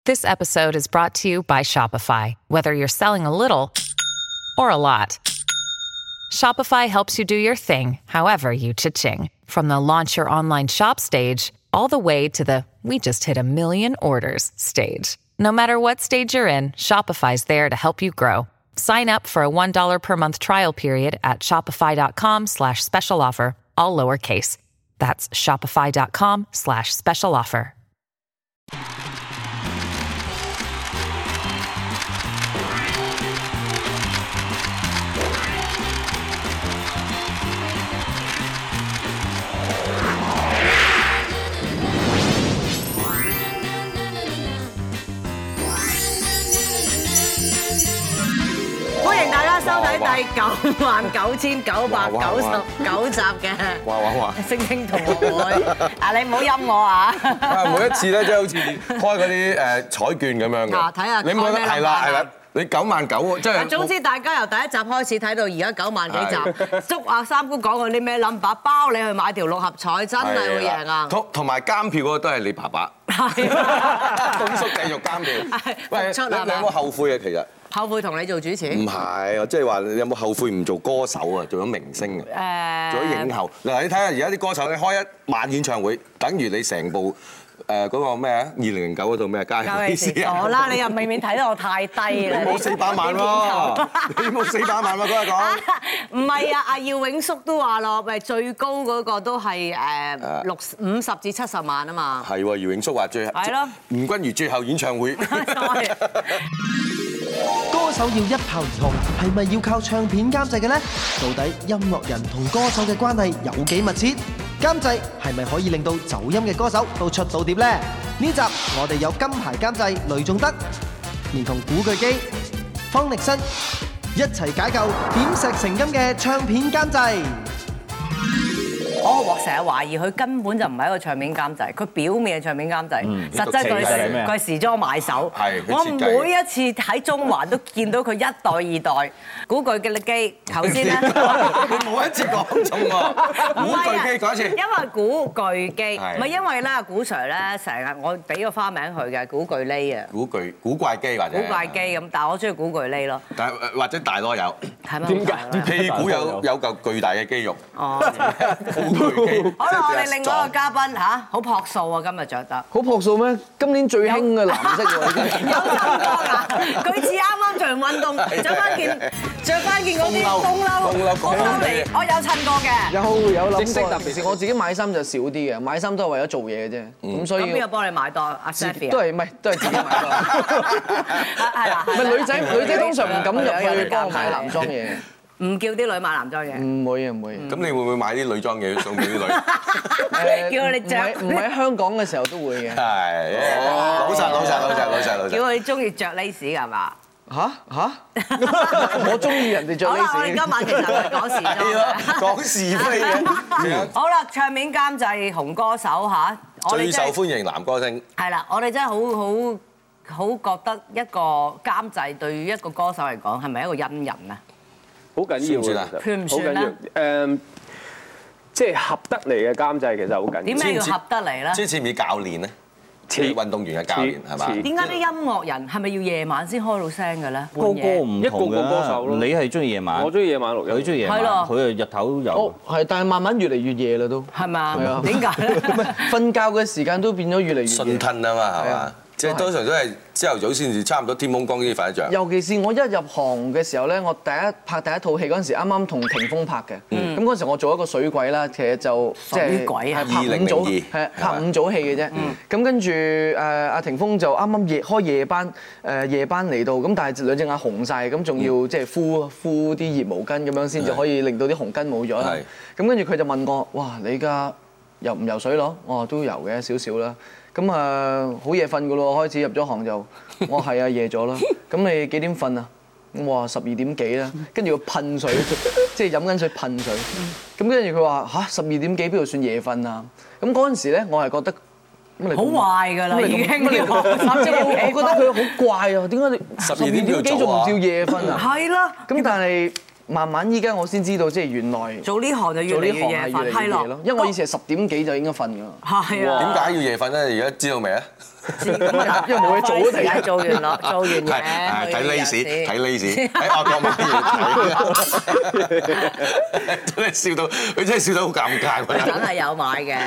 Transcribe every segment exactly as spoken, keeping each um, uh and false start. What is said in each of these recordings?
This episode is brought to you by Shopify. Whether you're selling a little or a lot, Shopify helps you do your thing, however you cha-ching. From the launch your online shop stage, all the way to the we just hit a million orders stage. No matter what stage you're in, Shopify's there to help you grow. Sign up for a one dollar per month trial period at shopify.com slash special offer, all lowercase. That's shopify.com slash special offer. 收睇第九萬九千九百九十九集嘅《星星同學會》啊！你唔好陰我啊！ 每一次咧，即係好似開嗰啲誒彩券咁樣嘅。嗱， 睇下你冇得係啦係啦，你九萬九即係。總之大家由第一集開始睇到而家九萬幾集，祝阿三姑講嗰啲咩 number，包你去買條六合彩，真係會贏啊！ 同同埋監票嗰個都係你爸爸。係。東叔繼續監票。喂，你你有冇後悔啊？其實？ 後悔同你做主持？ 唔係，即係話你有冇後悔唔做歌手啊？做咗明星啊？誒，做咗影后。嗱，你睇下而家啲歌手，你開一晚演唱會，等於你成部誒嗰個咩啊？二零零九嗰套咩啊？家有意思啊！ 好啦，你又未免睇得我太低啦！ 你冇四百萬喎，你冇四百萬喎，嗰日講。 唔係啊，阿耀永叔都話咯，咪最高嗰個都係誒六五十至七十萬啊嘛。係喎， 耀永叔話最係咯，吳君如最後演唱會。 歌手要一炮而紅，係咪要靠唱片監製嘅呢？到底音樂人同歌手嘅關係有幾密切？監製係咪可以令到走音嘅歌手都出到碟呢？呢集我哋有金牌監製雷頌德，連同古巨基、方力申一齊解救點石成金嘅唱片監製。 我成日懷疑佢根本就唔係一個唱片監製，佢表面係唱片監製，實質佢係佢係時裝買手。我每一次喺中環都見到佢一代二代古巨基。頭先咧， 你冇一次講中喎。古巨基講一次。 因為古巨基，唔係因為咧，古 Sir 咧成日我俾個花名佢嘅古巨基啊。 古巨古怪基或者。古怪基咁，但係我中意古巨基咯。 但係或者大囉柚。 係咪？點解？ 屁股有有嚿巨大嘅肌肉。哦。 好啦，我哋另外一個嘉賓嚇，好樸素啊，今日着得。 好樸素咩？今年最興嘅藍色喎，已經。 有襯過㗎，佢似啱啱做完運動，着翻件着翻件嗰啲風褸，風褸嚟，我有襯過嘅。 有有諗過，特別是我自己買衫就少啲嘅，買衫都係為咗做嘢嘅啫。咁所以。 咁邊個幫你買多？阿 Stephy 都係唔係都係自己買多。係啦。唔係女仔，女仔通常唔敢入去幫我買男裝嘢。 唔叫啲女買男裝嘢， 唔會啊唔會。 咁你會唔會買啲女裝嘢送俾啲女？ 叫佢哋着。 唔喺香港嘅時候都會嘅。 係，老實老實老實老實老實。 叫佢中意着 lace 㗎嘛？ 嚇嚇！我中意人哋着 lace。好啦， 我哋今晚其實係講時裝。 講是非嘅。 好啦，唱片監製紅歌手嚇， 最受歡迎男歌星。 係啦，我哋真係好好好覺得一個監製對於一個歌手嚟講係咪一個恩人啊？ 好緊要啊！ 算唔算咧？ 誒，即係合得嚟嘅監製其實好緊要。 點解要合得嚟咧？ 即係似唔似教練咧？似運動員嘅教練係嘛？ 點解啲音樂人係咪要夜晚先開到聲嘅咧？ 個個唔同嘅， 一個個歌手咯。 你係中意夜晚， 我中意夜晚錄音， 佢中意夜晚，佢係日頭有。 哦，係，但係慢慢越嚟越夜啦都。 係嘛？ 係啊。 點解咧？ 瞓覺嘅時間都變咗越嚟越夜。 順吞啊嘛，係嘛？即係通常都係朝頭早先至，差唔多天蒙光先瞓得着。 尤其是我一入行嘅時候咧，我第一拍第一套戲嗰陣時，啱啱同霆鋒拍嘅。咁嗰陣時我做一個水鬼啦，其實就即係係拍五組，係拍五組戲嘅啫。咁跟住誒阿霆鋒就啱啱夜開夜班，誒夜班嚟到，咁但係兩隻眼紅晒，咁仲要即係敷敷啲熱毛巾咁樣先至可以令到啲紅筋冇咗啦。咁跟住佢就問我：哇，你而家游唔游水咯？我話都游嘅少少啦。咁啊，好夜瞓噶咯，開始入咗行就，我係啊夜咗啦。咁你幾點瞓啊？我話十二點幾啦。跟住佢噴水，即係飲緊水噴水。咁跟住佢話吓，十二點幾邊度算夜瞓啊？咁嗰陣時咧，我係覺得好壞㗎啦，已經要我覺得佢好怪啊！點解你十二點幾仲唔叫夜瞓啊？ 係啦。 咁但係慢慢依家我先知道，即係原來做呢行就越嚟越夜瞓，係咯。 因為我以前係十點幾就應該瞓㗎。 係啊。 點解要夜瞓咧？而家知道未啊？ 咁啊，因為冇嘢做都停。 做完咯，做完嘢。 睇 lace， 睇 lace， 喺外國買嘢睇。真係笑到，佢真係笑到好尷尬。 梗係有買嘅。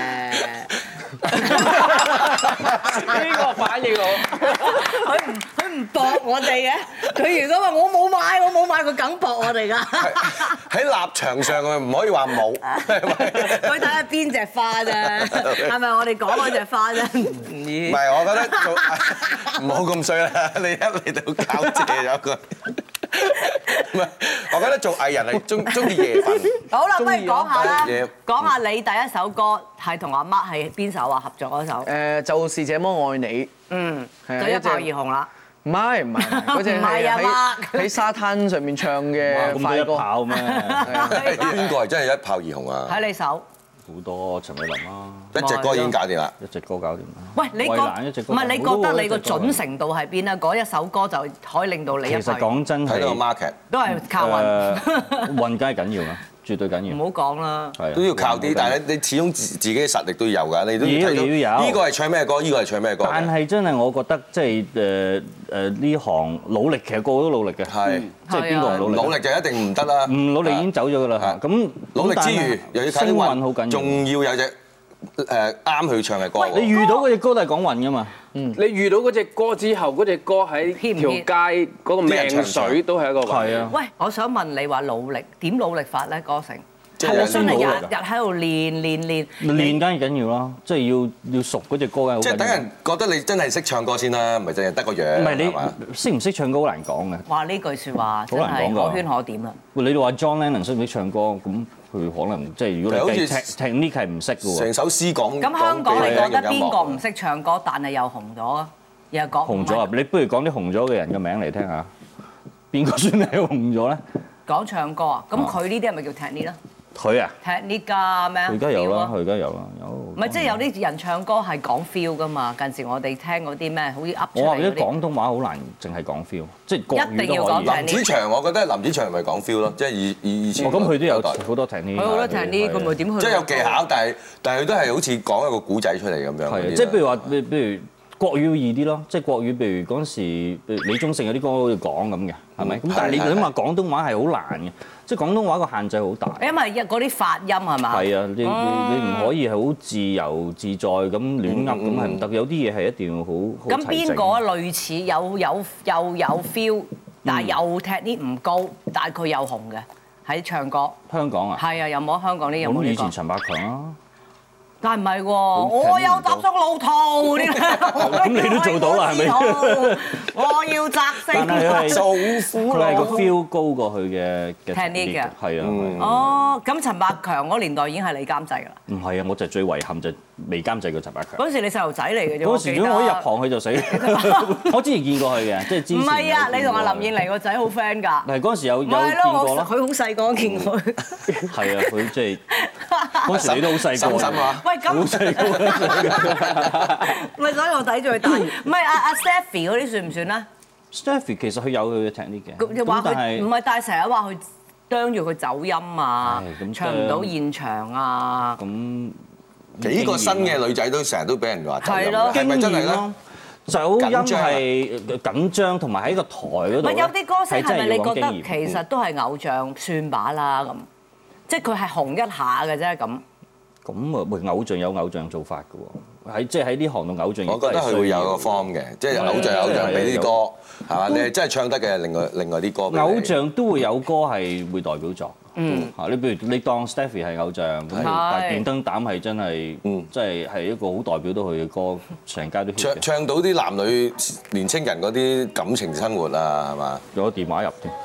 呢個反應好。 佢唔佢唔駁我哋嘅，佢如果話我冇買，我冇買，佢梗駁我哋㗎。 喺立場上佢唔可以話冇， 佢睇下邊隻花啫，係咪我哋講嗰隻花啫？唔係，我覺得做唔好咁衰啦，你一嚟到交借咗佢。唔係，我覺得做藝人係中中意夜瞓。好啦，不如講下啦，講下你第一首歌係同阿 Mark 係邊首啊？合作嗰首？ 誒，就是這麼愛你。 嗯，就一炮而紅啦。 唔係唔係，嗰隻係喺喺沙灘上面唱嘅快歌。 咁一炮咩？ 邊個係真係一炮而紅啊？ 睇你手。 好多陳慧琳啦， 一隻歌已經搞掂啦， 一隻歌搞掂啦。 喂，你覺唔係你覺得你個準程度喺邊啊？嗰一首歌就可以令到你一。 其實講真係睇到個 market 都係靠運。 運梗係緊要啦，絕對緊要。 唔好講啦， 都要靠啲，但係你始終自自己嘅實力都要有㗎，你都要睇到。 要有。 呢個係唱咩歌？呢個係唱咩歌？ 但係真係我覺得即係誒誒呢行努力，其實個個都努力嘅。係。即係邊個唔努力？ 努力就一定唔得啦。唔努力已經走咗㗎啦。咁努力之餘，又要睇啲運，好緊要。仲要有隻誒啱佢唱嘅歌。 你遇到嗰隻歌都係講運㗎嘛？ 嗯。你遇到嗰隻歌之後，嗰隻歌喺條街嗰個命水都係一個運。係啊。 喂，我想問你話努力點努力法咧？歌成係咪真係日日喺度練練練？ 練梗係緊要啦，即係要要熟嗰隻歌嘅。 即係等人覺得你真係識唱歌先啦，唔係淨係得個樣。 唔係你識唔識唱歌好難講嘅。 話呢句説話真係可圈可點啦。 你哋話 John Lennon 識唔識唱歌咁？佢可能即係如果你計 technique 係唔識嘅喎。 成首詩講。 咁香港你覺得邊個唔識唱歌，但係又紅咗啊？又講紅咗啊！你不如講啲紅咗嘅人嘅名嚟聽下，邊個算係紅咗咧？ 講唱歌啊！咁佢呢啲係咪叫 technique 咧？ 佢啊 technique 㗎咩？ 佢而家有啦，佢而家有啦，有。 唔係即係有啲人唱歌係講 feel 㗎嘛？近時我哋聽嗰啲咩，好似噏出嚟嗰啲。 我話啲廣東話好難，淨係講 feel，即係國語都可以。一定要講 technique。 林子祥，我覺得林子祥咪講 feel 咯，即係以以以前。 哦，咁佢都有好多 technique。 佢好多 technique，佢咪點去？ 即係有技巧，但係但係佢都係好似講一個古仔出嚟咁樣。 係，即係譬如話，譬如國語要易啲咯，即係國語，譬如嗰陣時，譬如李宗盛有啲歌好似講咁嘅，係咪？咁但係你諗下廣東話係好難嘅。即係廣東話個限制好大， 因為嗰啲發音係嘛？ 係啊，你你你唔可以係好自由自在咁亂噏，咁係唔得。有啲嘢係一定要好好齊整。 咁邊個類似有有又有 feel，但係又踢啲唔高，但係佢又紅嘅喺唱歌？ 香港啊？ 係啊，有冇香港呢？有冇呢個？ 咁以前陳百強啊。 但係唔係喎，我有踏足路途啲， 咁你都做到啦，係咪？ 我要摘星做苦佢係個 feel 高過佢嘅嘅 technique 嘅， 係啊。 哦，咁陳百強嗰年代已經係你監製㗎啦。 唔係啊，我就最遺憾就未監製過陳百強。 嗰時你細路仔嚟嘅啫。 嗰時如果我一入行佢就死。我之前見過佢嘅，即係之前。 唔係啊，你同阿林燕妮個仔好 friend 㗎。 係嗰時有有見過咯。 佢好細個見佢。 係啊，佢即係嗰時你都好細個。 心啊！ 喂，咁好細個。唔係，所以我睇住佢大。唔係阿阿 Stephy 嗰啲算唔算咧 ？Stephy 其實佢有佢嘅 technique 嘅。 咁話佢唔係，但係成日話佢啄住佢走音啊，唱唔到現場啊。 咁幾個新嘅女仔都成日都俾人話走音， 係咪真係咧？ 走音係緊張，同埋喺個台嗰度。 唔係有啲歌星係咪你覺得其實都係偶像算把啦咁？即係佢係紅一下嘅啫咁。 咁啊，喂，偶像有偶像做法嘅喎，喺即係喺呢行度偶像。 我覺得佢會有個 form 嘅，即係偶像偶像俾啲歌，係嘛？你係真係唱得嘅，另外另外啲歌。偶像都會有歌係會代表作。嗯。嚇，你譬如你當 Stephy 係偶像，咁但係電燈膽係真係，即係係一個好代表到佢嘅歌，成街都 hit 嘅。 唱唱到啲男女年青人嗰啲感情生活啊，係嘛？ 攞電話入添。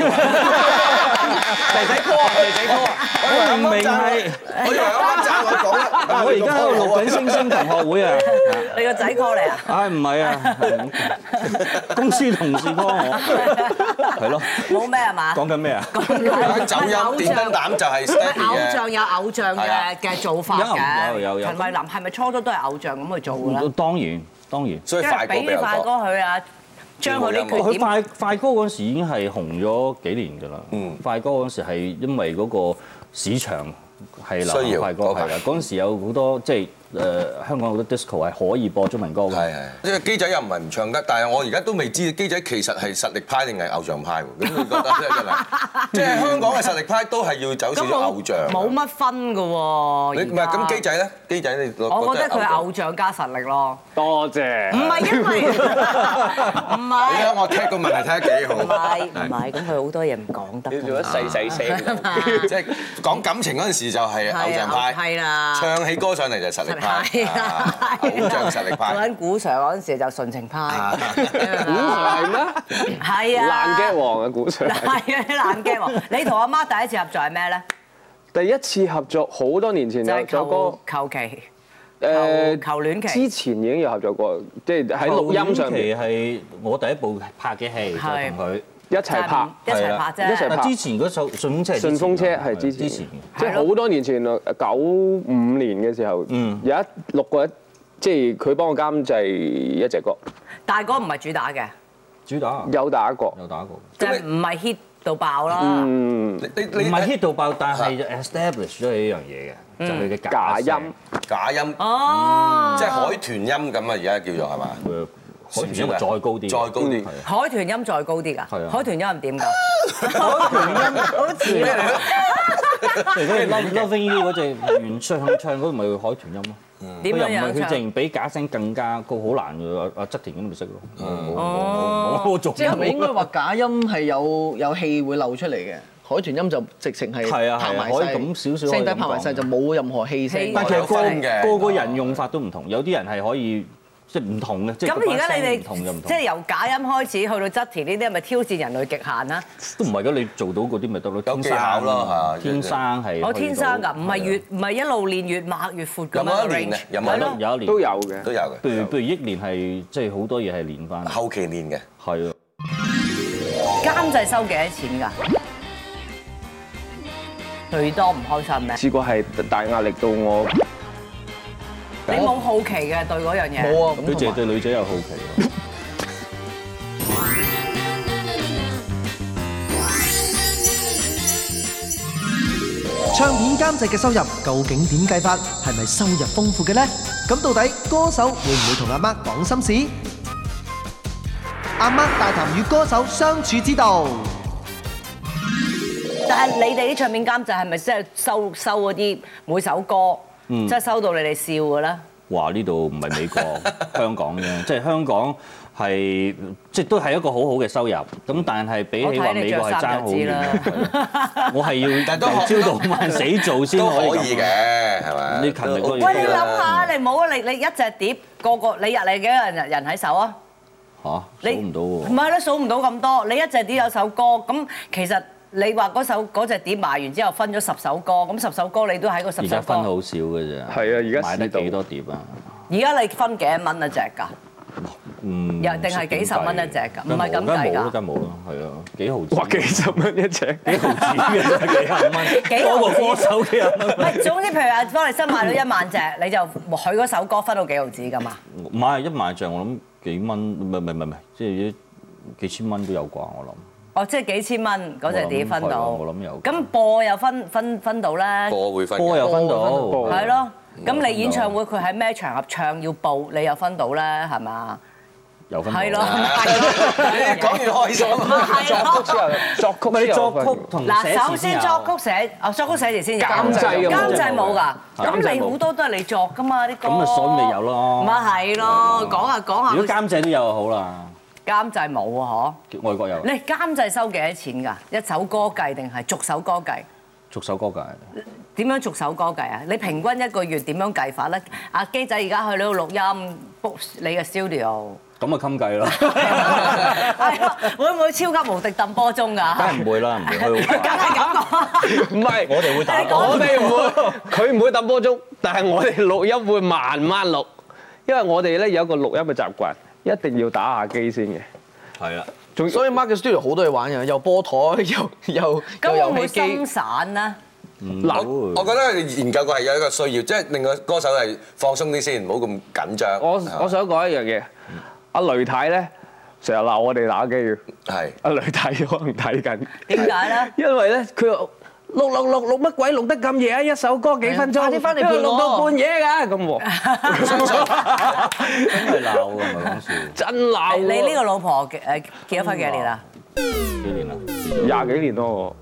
仔仔歌啊！仔仔歌啊！ 我明明係， 我以為啱贊我講啦。 我而家喺度錄緊星星同學會啊！ 你個仔 call 你啊？ 唉，唔係啊，公司同事 call 我，係咯。 冇咩係嘛？ 講緊咩啊？ 走音電燈膽就係 Stephy 嘅。 偶像有偶像嘅嘅做法嘅。 有有有。 陳慧琳係咪初初都係偶像咁去做㗎咧？ 當然當然。 所以快歌比較多。 俾快歌佢啊！ 將佢啲缺點。 佢快快歌嗰陣時已經係紅咗幾年㗎啦。嗯，快歌嗰陣時係因為嗰個市場係流行快歌係啦，嗰陣時有好多即係。誒香港好多 disco 係可以播中文歌嘅， 係係。因為機仔又唔係唔唱得，但係我而家都未知機仔其實係實力派定係偶像派喎。咁你覺得咧真係？即係香港嘅實力派都係要走少少偶像。 冇乜分㗎喎。 你唔係咁機仔咧？機仔你我覺得佢係偶像加實力咯。 多謝。 唔係因為唔係。 你睇我踢個問題睇得幾好。 唔係唔係，咁佢好多嘢唔講得。 你做得細細聲。 即係講感情嗰陣時就係偶像派。 係啦。 唱起歌上嚟就實力派。 係啊， 偶像實力派。 做緊古 Sir 嗰陣時就純情派。 古 Sir 係咩？ 係啊。 爛 gag 王啊，古 Sir。 係啊，爛 gag 王。你同阿媽第一次合作係咩咧？ 第一次合作好多年前有首歌， 求其。 誒求戀期。 之前已經有合作過，即係喺錄音上面。 係我第一部拍嘅戲，就同佢。 一齊拍， 一齊拍啫。 一齊拍。 之前嗰首順風車， 順風車係之前，即係好多年前啦，九五年嘅時候，有一錄過一，即係佢幫我監製一隻歌。 大哥唔係主打嘅， 主打有打過， 有打過， 即係唔係 hit 到爆啦。 嗯， 你你唔係 hit 到爆，但係 establish 咗呢樣嘢嘅，就佢嘅假音， 假音， 哦， 即係海豚音咁啊！而家叫做係嘛？ 海豚音再高啲， 再高啲。 海豚音再高啲㗎？係啊。海豚音係點㗎？ 海豚音好似咩嚟？ 如果你 Loving You 嗰隻原唱唱嗰個咪海豚音咯。 點樣樣唱？ 佢又唔係佢淨比假聲更加高，好難㗎。阿阿側田咁咪識咯。 哦。 我做。 即係咪應該話假音係有有氣會漏出嚟嘅？海豚音就直情係拍埋可以咁少少， 聲底拍埋晒就冇任何氣聲。 但係其實個個個人用法都唔同，有啲人係可以。即係唔同嘅，即係咁而家你哋唔同就唔同。 即係由假音開始去到側田呢啲，係咪挑戰人類極限啊？ 都唔係㗎，你做到嗰啲咪得咯。 有技巧咯， 天生係。 我天生㗎，唔係越唔係一路練越擘越闊㗎嘛。 有冇一年啊？有冇有一年都有嘅， 都有嘅。 譬如譬如憶年係即係好多嘢係練翻。 後期練嘅。 係啊。 監製收幾多錢㗎？最多唔開心咩？ 試過係大壓力到我。 你冇好奇嘅對嗰樣嘢？ 冇啊， 佢淨係對女仔有好奇。 唱片監製嘅收入究竟點計法？係咪收入豐富嘅呢？咁到底歌手會唔會同阿媽講心事？阿媽大談與歌手相處之道。 但係你哋啲唱片監製係咪真係收收嗰啲每首歌？即係收到你哋笑嘅咧？ 話呢度唔係美國，香港啫，即係香港係即係都係一個好好嘅收入。咁但係比起話美國係爭好遠。我係要朝到晚死做先可以嘅，係咪？ 你勤力都要。 喂，你諗下，你冇啊！你你一隻碟個個你日你幾多人人喺手啊？ 嚇，數唔到喎。 唔係咯，數唔到咁多。你一隻碟有首歌，咁其實。你話嗰首嗰隻碟賣完之後分咗十首歌，咁十首歌你都喺個十首歌。 而家分好少嘅啫。 係啊，而家買得幾多碟啊？ 而家你分幾多蚊一隻㗎？ 嗯。 又定係幾十蚊一隻㗎？唔係咁計㗎。 梗係冇啦，係啊，幾毫子。 哇！幾十蚊一隻， 幾毫子嘅幾廿蚊。多個歌手幾廿蚊。 唔係，總之譬如話方力申賣到一萬隻，你就佢嗰首歌分到幾毫子㗎嘛？ 唔係一萬隻，我諗幾蚊，唔係唔係唔係，即係幾千蚊都有啩，我諗。 哦，即係幾千蚊嗰隻碟分到， 我諗有。 咁播又分分分到咧？ 播會分， 播又分到， 係咯。咁你演唱會佢喺咩場合唱要報，你又分到咧，係嘛？ 有分到。 係咯， 講完開心。 作曲之後，作曲咪作曲同嗱，首先作曲寫，哦作曲寫詞先有。 監製監製冇㗎。咁你好多都係你作㗎嘛啲歌。 咁咪所以咪有咯。 咪係咯，講下講下。 如果監製都有就好啦。 監製冇啊，嗬？ 外國有。 你監製收幾多錢㗎？一首歌計定係逐首歌計？ 逐首歌計。 點樣逐首歌計啊？你平均一個月點樣計法咧？阿基仔而家去呢度錄音 book 你嘅 studio。 咁啊襟計咯。 係啊，會唔會超級無敵揼波鐘㗎？ 梗係唔會啦，唔會。 梗係咁講。 唔係， 我哋會打。 我哋唔會，佢唔會揼波鐘，但係我哋錄音會慢慢錄，因為我哋咧有一個錄音嘅習慣。一定要打下機先嘅， 係啊， 仲所以 Mark 嘅 studio 好多嘢玩嘅，又波台，又又又遊戲機。咁會唔會心散咧？ 嗱，我覺得研究過係有一個需要，即係令個歌手係放鬆啲先，唔好咁緊張。 我我想講一樣嘢，阿雷太咧成日鬧我哋打機嘅。 係阿雷睇可能睇緊。 點解咧？ 因為咧佢話錄錄錄錄乜鬼錄得咁夜啊！一首歌幾分鐘，快啲翻嚟陪我。錄到半夜㗎咁喎。 真係鬧㗎，唔係講笑。 真鬧。 你呢個老婆誒結咗婚幾年啦？ 幾年啦？ 廿幾年咯。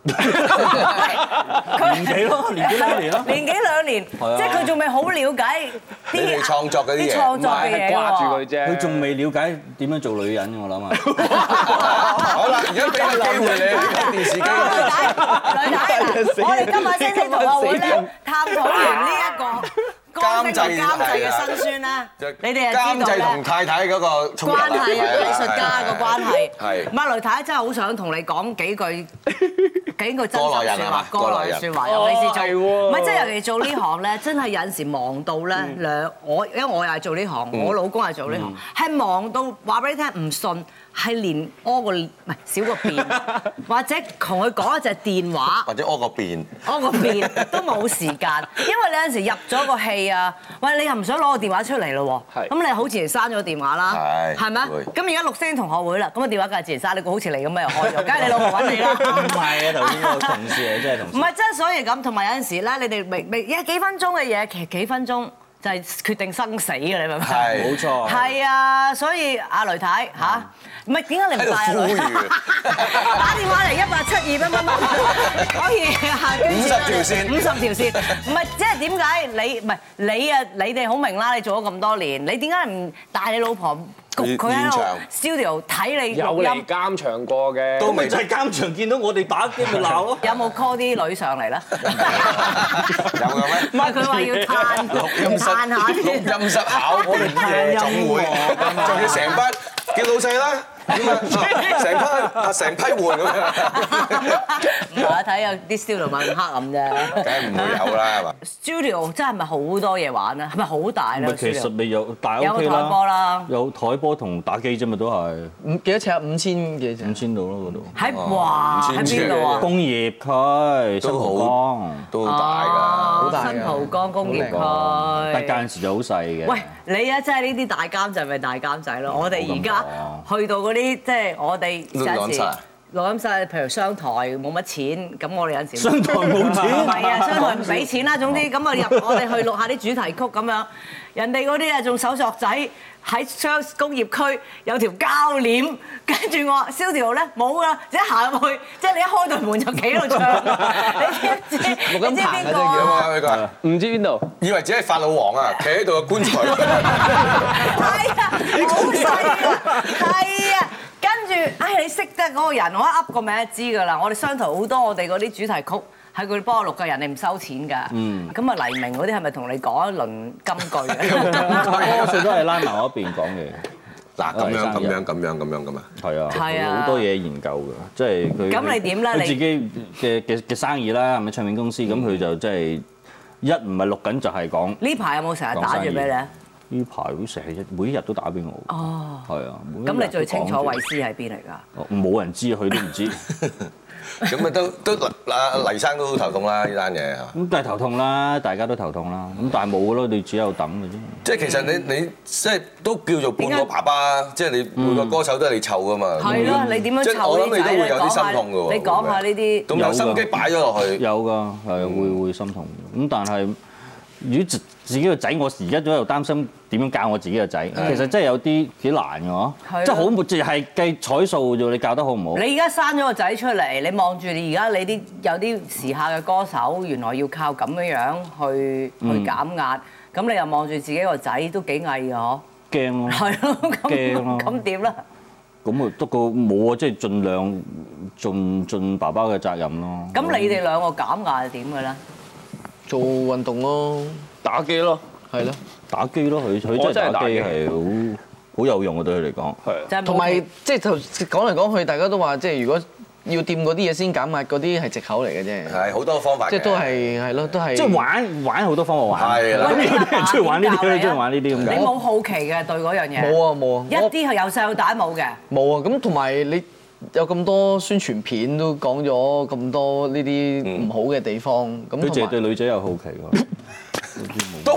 年幾咯？年幾兩年咯？ 年幾兩年，即係佢仲未好了解啲創作嗰啲嘢， 啲創作嘅嘢掛住佢啫。 佢仲未了解點樣做女人，我諗啊。 好啦，而家俾個機會你睇電視機。 女仔，我哋今晚星星同學會咧探討完呢一個監製監製嘅辛酸啦，你哋係知道咧。監製同太太嗰個關係啊，藝術家個關係。係。馬雷太真係好想同你講幾句幾句真心説話，過來説話，尤其是做唔係即係尤其做呢行咧，真係有陣時忙到咧兩我，因為我又係做呢行，我老公係做呢行，係忙到話俾你聽唔信。係連屙個唔係少個便，或者同佢講一隻電話， 或者屙個便， 屙個便都冇時間，因為你有陣時入咗個戲啊，喂你又唔想攞個電話出嚟咯喎，咁你好自然刪咗電話啦，係咪？咁而家六星同學會啦，咁個電話梗係自然刪，你個好似你咁樣又開咗，梗係你老婆揾你啦。 唔係啊，頭先嗰個同事嚟，真係同事。 唔係真係所以咁，同埋有陣時咧，你哋未未一幾分鐘嘅嘢，其實幾分鐘。就係決定生死嘅，你明唔明？ 係，冇錯。 係啊，所以阿雷太嚇，唔係點解你唔帶女？打電話嚟一八七二乜乜乜，可以下五十條線，五十條線。唔係即係點解你唔係你啊？你哋好明啦，你做咗咁多年，你點解唔帶你老婆？佢喺度 studio 睇你錄音， 有嚟監場過嘅， 都咪就係監場見到我哋打機咪鬧咯。 有冇 call 啲女上嚟咧？ 有嘅咩？ 唔係佢話要嘆錄音室， 嘆下錄音室考我哋夜總會，仲要成班叫老細啦。成批啊，成批換咁樣。 唔係啊，睇有啲 studio 咪咁黑暗啫。 梗係唔會有啦，係嘛 ？studio 真係咪好多嘢玩啊？係咪好大咧？ 其實你有大 O K 啦， 有台波啦， 有台波同打機啫嘛，都係。 五幾多尺啊？五千幾尺？ 五千度咯嗰度。 喺哇！喺邊度啊？ 工業區，新蒲崗都好大㗎， 好大㗎。 新蒲崗工業區。 但間時就好細嘅。 喂，你啊，真係呢啲大監製咪大監製咯？我哋而家去到嗰啲。即係我哋有陣時錄音室，譬如商台冇乜錢，咁我哋有陣時商台冇錢， 唔係啊，商台唔俾錢啦。總之咁啊入我哋去錄下啲主題曲咁樣，人哋嗰啲啊仲手作仔喺商工業區有條膠鏈，跟住我 studio 咧冇㗎，一行入去，即係你一開到門就企喺度唱，你知唔知？ 錄音棚啊，真係叫啊！唔知邊度？ 以為自己係法老王啊，企喺度嘅棺材。 係啊，好細啊，係啊。跟住，唉，你識得嗰個人，我一噏個名就知㗎啦。我哋商台好多我哋嗰啲主題曲喺佢哋幫我錄嘅，人哋唔收錢㗎。嗯。咁啊，黎明嗰啲係咪同你講一輪金句啊？ 多數都係拉埋我一邊講嘅。 嗱，咁樣咁樣咁樣咁樣㗎嘛。 係啊。 係啊。 好多嘢研究㗎，即係佢。 咁你點咧？ 佢自己嘅嘅嘅生意啦，係咪唱片公司？咁佢就即係一唔係錄緊就係講。呢排有冇成日打住俾你啊？ 呢排會成日每一日都打俾我。哦，係啊。 咁你最清楚衛詩喺邊嚟㗎？ 冇人知，佢都唔知。 咁啊都都阿黎生都好頭痛啦呢單嘢係嘛？ 咁但係頭痛啦，大家都頭痛啦。咁但係冇㗎咯，你只有等嘅啫。 即係其實你你即係都叫做半個爸爸，即係你每個歌手都係你湊㗎嘛。係咯， 你點樣湊？ 即係我諗你都會有啲心痛㗎喎。 你講下呢啲。 咁有心機擺咗落去。 有㗎，係會會心痛。咁但係如果自自己個仔，我而家都喺度擔心點樣教我自己個仔。其實真係有啲幾難嘅嗬，即係好冇，即係計彩數啫。你教得好唔好？ 你而家生咗個仔出嚟，你望住你而家你啲有啲時下嘅歌手，原來要靠咁樣樣去去減壓，咁你又望住自己個仔都幾翳嘅嗬？ 驚咯， 係咯，驚咯，咁點咧？ 咁啊，不過冇啊，即係盡量盡盡爸爸嘅責任咯。 咁你哋兩個減壓係點嘅咧？ 做運動咯，打機咯，係咯， 打機咯，佢佢真係打機係好好有用嘅對佢嚟講。 係，同埋即係頭講嚟講去，大家都話即係如果要掂嗰啲嘢先減壓，嗰啲係藉口嚟嘅啫。 係好多方法。即係都係係咯，都係。 即係玩玩好多方法玩。係啦。咁有啲人中意玩呢啲，中意玩呢啲咁嘅。 你冇好奇嘅對嗰樣嘢？ 冇啊冇啊！ 一啲係由細到大冇嘅。冇啊！咁同埋你。有咁多宣傳片都講咗咁多呢啲唔好嘅地方，咁佢淨係對女仔有好奇喎， 都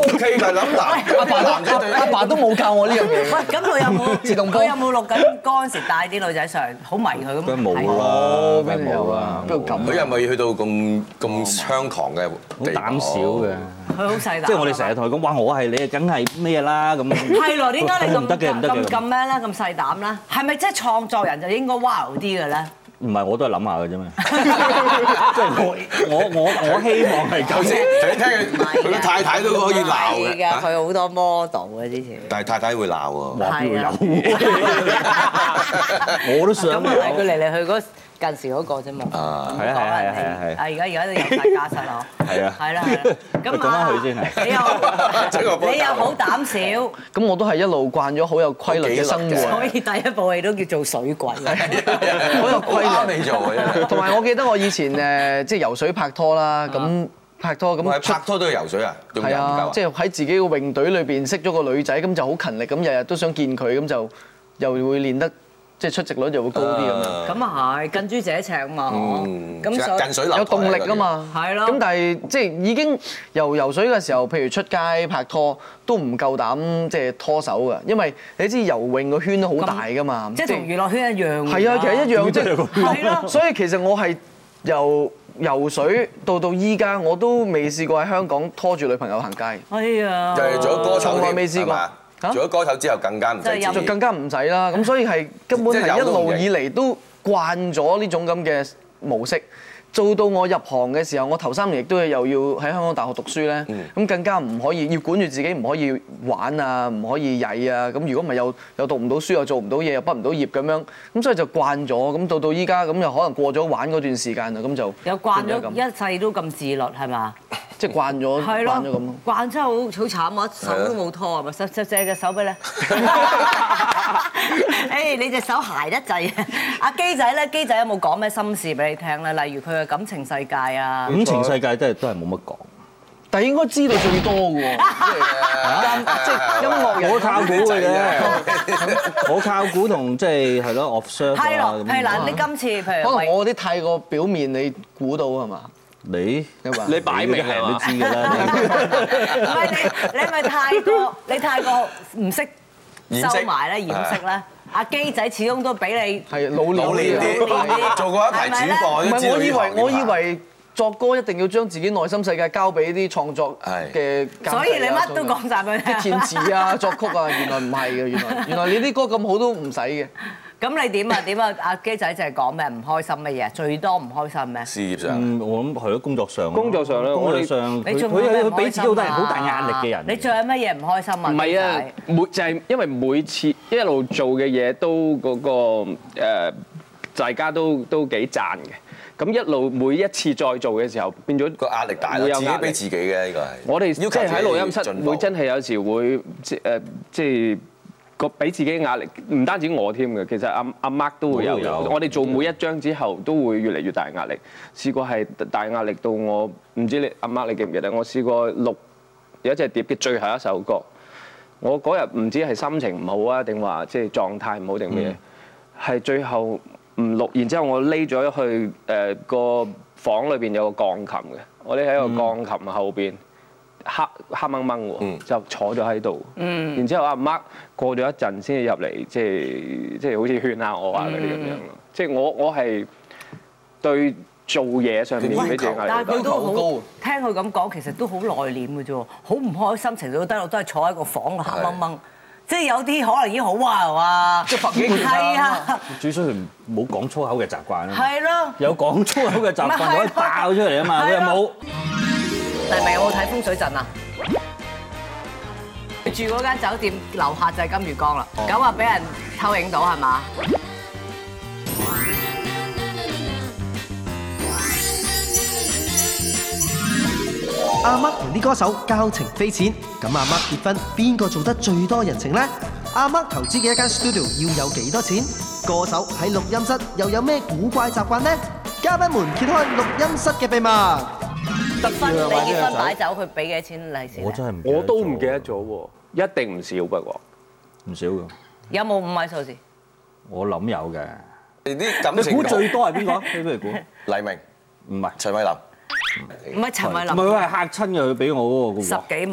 OK 㗎，諗男阿爸男仔對阿爸都冇教我呢樣嘢。 喂，咁佢有冇自動波？ 佢有冇錄緊嗰陣時帶啲女仔上，好迷佢咁？ 佢冇啦， 邊度有啊？邊度咁？ 佢又咪去到咁咁猖狂嘅地步？ 膽小嘅。 佢好細膽。 即係我哋成日同佢講，哇！我係你，梗係咩啦咁。 係咯，點解你咁唔得嘅，唔得嘅咁咁咩咧？咁細膽咧？係咪即係創作人就應該 wow 啲嘅咧？ 唔係，我都係諗下嘅啫嘛。即係我我我我希望係咁先。 你聽佢佢太太都可以鬧嘅。 佢好多 model 嘅之前。 但係太太會鬧喎。 係啊。 我都想。 咁啊，佢嚟嚟去嗰近時嗰個啫嘛。 啊，係啊係啊係啊係。 啊，而家而家都有晒家室咯。 係啊。 係啦係啦。咁講翻佢先係。 你又你又好膽小。 咁我都係一路慣咗好有規律嘅生活。 所以第一部戲都叫做水鬼。 好有規律。 你做嘅。 同埋我記得我以前誒即係游水拍拖啦，咁拍拖咁拍拖都要游水啊？ 係啊，即係喺自己個泳隊裏邊識咗個女仔，咁就好勤力，咁日日都想見佢，咁就又會練得即係出席率就會高啲咁樣。 咁啊係，近朱者赤啊嘛， 咁近水樓台有動力啊嘛。 係咯。 咁但係即係已經游游水嘅時候，譬如出街拍拖都唔夠膽即係拖手㗎，因為你知游泳個圈都好大㗎嘛。 即係同娛樂圈一樣。 係啊，其實一樣即係。 係咯。 所以其實我係由游水到到依家，我都未試過喺香港拖住女朋友行街。 哎呀！ 就係做咗歌手， 從來未試過。 做咗歌手之後更加唔使， 就更加唔使啦。咁所以係根本係一路以嚟都慣咗呢種咁嘅模式。做到我入行嘅時候，我頭三年亦都係又要喺香港大學讀書咧，咁更加唔可以要管住自己，唔可以玩啊，唔可以曳啊。咁如果唔係又又讀唔到書，又做唔到嘢，又畢唔到業咁樣，咁所以就慣咗。咁到到依家咁又可能過咗玩嗰段時間啦，咁就有慣咗一世都咁自律係嘛？ 即係慣咗，慣咗咁咯。 慣真係好好慘啊！手都冇拖係咪？借借隻手俾你。誒，你隻手鞋得滯啊！阿基仔咧，基仔有冇講咩心事俾你聽咧？例如佢嘅感情世界啊。 感情世界都係都係冇乜講。 但係應該知道最多嘅喎。即係音樂人， 我靠估嘅啫。我靠估同即係係咯 observe 啊。 係咯，係嗱，你今次譬如可能我啲太過表面，你估到係嘛？ 你你擺明係都知㗎啦。 唔係你，你咪太過，你太過唔識收埋咧，掩飾咧。阿基仔始終都俾你係老老練啲， 做過一排主播。 唔係我以為我以為作歌一定要將自己內心世界交俾啲創作嘅， 所以你乜都講晒俾佢聽。 填詞啊、作曲啊，原來唔係嘅，原來原來你啲歌咁好都唔使嘅。 咁你點啊？點啊？阿基仔就係講咩唔開心乜嘢？最多唔開心咩？ 事業上， 嗯，我諗係咯，工作上。 工作上咧， 工作上佢佢佢俾自己好大好大壓力嘅人。 你仲有乜嘢唔開心啊？ 唔係啊，每就係因為每次一路做嘅嘢都嗰個誒，大家都都幾讚嘅。咁一路每一次再做嘅時候，變咗個壓力大啦，自己俾自己嘅呢個係。 我哋即係喺錄音室會真係有時會即誒即係。個俾自己壓力，唔單止我添嘅，其實阿阿 Mark 都會有。我哋做每一張之後，都會越嚟越大壓力。試過係大壓力到我唔知你阿 Mark 你記唔記得？我試過錄有一隻碟嘅最後一首歌，我嗰日唔知係心情唔好啊，定話即係狀態唔好定咩？係最後唔錄，然之後我匿咗去誒個房裏邊有個鋼琴嘅，我匿喺個鋼琴後邊。黑黑掹掹喎，就坐咗喺度。嗯、然之後阿 Mark 過咗一陣先至入嚟，即係即係好似勸下我啊嗰啲咁樣咯。即係我我係對做嘢上面俾自己壓力。 但係佢都好聽佢咁講，其實都好內斂嘅啫，好唔開心，情緒都低落，都係坐喺個房度黑掹掹。即係有啲可能已經好哇哇， 即係百幾年係啊！ 最衰佢冇講粗口嘅習慣啊。 係咯。 有講粗口嘅習慣可以爆出嚟啊嘛，佢又冇。 黎明有冇睇風水陣啊？住嗰間酒店樓下就係金魚缸啦，咁啊俾人偷影到係嘛？ 阿 Mark 同啲歌手交情匪淺，咁阿 Mark 結婚邊個做得最多人情呢？阿 Mark 投資嘅一間 studio 要有幾多錢？歌手喺錄音室又有咩古怪習慣呢？嘉賓們揭開錄音室嘅秘密。 結婚你結婚擺酒，佢俾幾多錢利是？ 我真係唔， 我都唔記得咗喎，一定唔少不過， 唔少㗎。 有冇五位數字？ 我諗有嘅。 啲感情， 你估最多係邊個？你不如估。 黎明， 唔係陳慧琳。 唔係陳慧琳。 唔係佢係嚇親嘅，佢俾我嗰個。 十幾萬。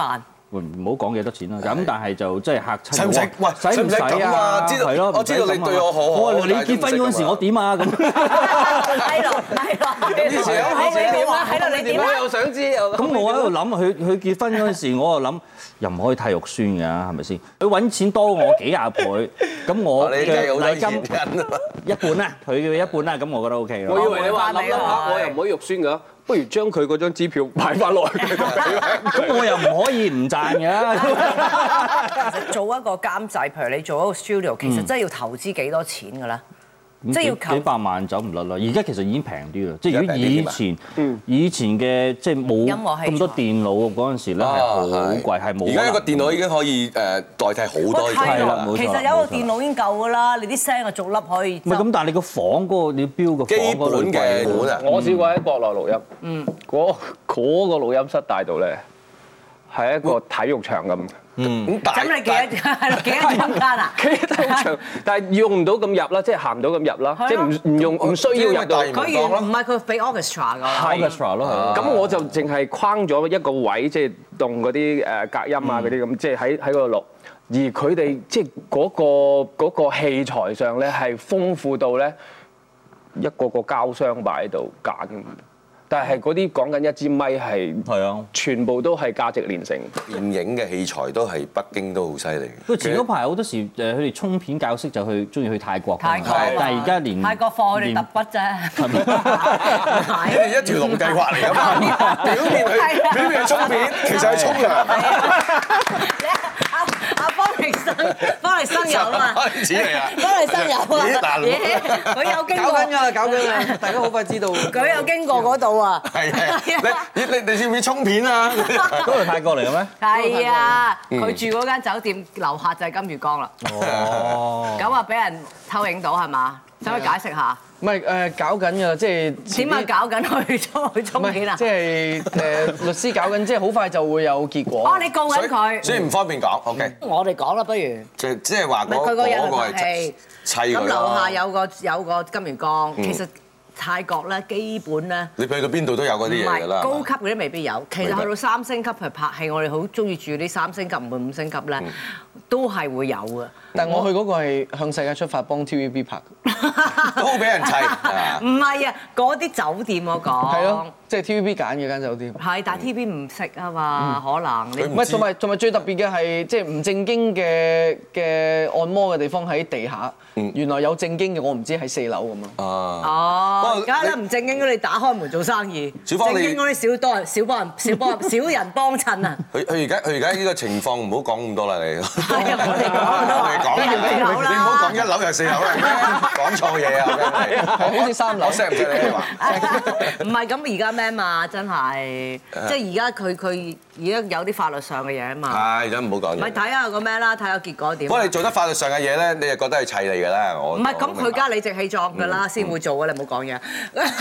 唔好講幾多錢啦。咁但係就即係嚇親。 使唔使？喂，使唔使啊？知道係咯，我知道你對我好好。 我話你結婚嗰陣時，我點啊咁？ 係咯，係咯。 你想你點啊？喺度你點啊？我又想知。 咁我喺度諗，佢佢結婚嗰陣時，我就諗又唔可以太肉酸㗎，係咪先？佢揾錢多我幾廿倍，咁我嘅禮金一半啦，佢嘅一半啦，咁我覺得 O K 咯。 我以為你話諗諗下，我又唔可以肉酸㗎。不如將佢嗰張支票買翻落去， 咁我又唔可以唔賺㗎。 其實做一個監製，譬如你做一個 studio，其實真係要投資幾多錢㗎啦？即係要幾百萬走唔甩啦。而家其實已經平啲啦，即係如果以前以前嘅即係冇咁多電腦嗰陣時咧係好貴，係冇。而家一個電腦已經可以誒代替好多嘢。 係啦，冇錯。 其實有個電腦已經夠㗎啦，你啲聲啊逐粒可以。 唔係咁，但係你個房嗰個你要標個房嗰個基本嘅本啊。 我試過喺國內錄音，嗯，嗰嗰個錄音室大到咧係一個體育場咁。 嗯，咁咁你幾多係咯？幾多空間啊？ 幾多體育場，但係用唔到咁入啦，即係行唔到咁入啦，即係唔唔用唔需要入到。 佢原唔係佢俾 orchestra 㗎。 係 orchestra 咯， 咁我就淨係框咗一個位，即係動嗰啲誒隔音啊嗰啲咁，即係喺喺嗰度錄。而佢哋即係嗰個嗰個器材上咧係豐富到咧一個個膠箱擺喺度揀。但係嗰啲講緊一支咪係，係啊，全部都係價值連城。 電影嘅器材都係北京都好犀利。 不過前嗰排好多時誒，佢哋沖片教識就去中意去泰國。 泰國， 但係而家連泰國貨佢哋揼筆啫。 你哋一條龍計劃嚟㗎嘛？表面去表面去沖片，其實係沖涼。 阿阿方力申，方力申有啊嘛， 開始嚟啊！ 方力申有啊，佢有經過。 搞緊㗎啦，搞緊啦，大家好快知道。 佢有經過嗰度啊。 係係，你你你要唔要沖片啊？ 嗰度泰國嚟嘅咩？ 係啊，佢住嗰間酒店樓下就係金魚缸啦。 哦。 咁啊，俾人偷影到係嘛？使唔使解釋下？ 唔係誒，搞緊㗎，即係點解搞緊去沖去沖片啊？ 即係誒律師搞緊，即係好快就會有結果。 哦，你告緊佢， 所以唔方便講。OK。 我哋講啦，不如。 即即係話嗰佢個人嗰個係係砌佢。 咁樓下有個有個金魚缸，其實泰國咧基本咧， 你去到邊度都有嗰啲嘢㗎啦。 高級嗰啲未必有，其實去到三星級去拍戲，我哋好中意住啲三星級唔會五星級咧，都係會有嘅。 但係我去嗰個係向世界出發幫 T V B 拍， 都俾人砌。 唔係啊，嗰啲酒店我講。 係咯，即係 T V B 揀嘅間酒店。 係，但係 T V B 唔識啊嘛，可能你唔係，同埋同埋最特別嘅係，即係唔正經嘅嘅按摩嘅地方喺地下，原來有正經嘅，我唔知喺四樓咁咯。 哦，而家咧唔正經嗰啲打開門做生意，正經嗰啲少多人少幫人少幫少人幫襯啊。 佢佢而家佢而家呢個情況唔好講咁多啦，你。 係啊，我哋講。 講你你唔好講一樓又四樓啦，講錯嘢啊！ 好似三樓， 我識唔識你話？ 唔係咁而家咩嘛？真係，即係而家佢佢而家有啲法律上嘅嘢啊嘛。 係，而家唔好講嘢。 咪睇下個咩啦，睇下結果點。 不過你做得法律上嘅嘢咧，你就覺得係砌你㗎啦，我。 唔係，咁佢加理直氣壯㗎啦，先會做㗎，你唔好講嘢。